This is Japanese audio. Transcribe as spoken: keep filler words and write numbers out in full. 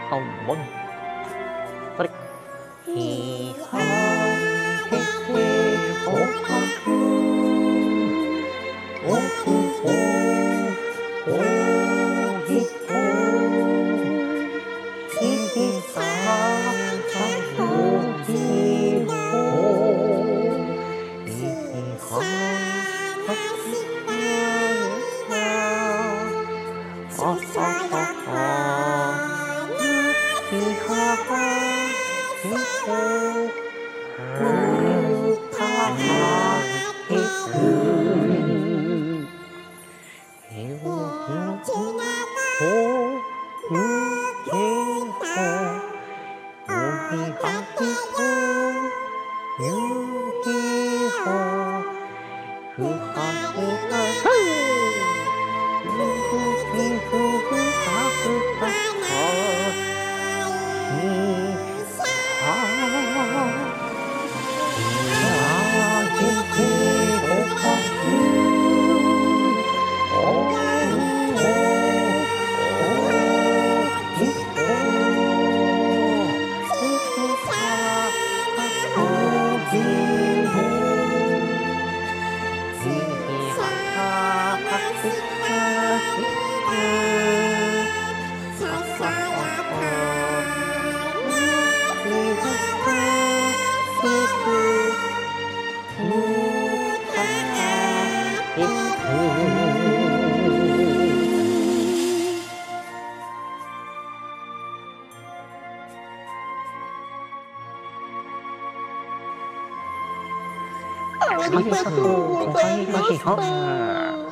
ほん。それ。ひはへへほはふ。おひほ。おひほ。ひひはおひほ。ひひははははは。ひははひほ。ふははひふ。ひほほふひほ。おひはひほ。ゆひほ。ふはふはふ。ふふひふふはふはは。ひは。ひはひひほはふ。おひほ。おひほ。ひひはおひほ。ひひははひはひふ。はははは。ひははひふ。ふははひふ。 ありがとうございました。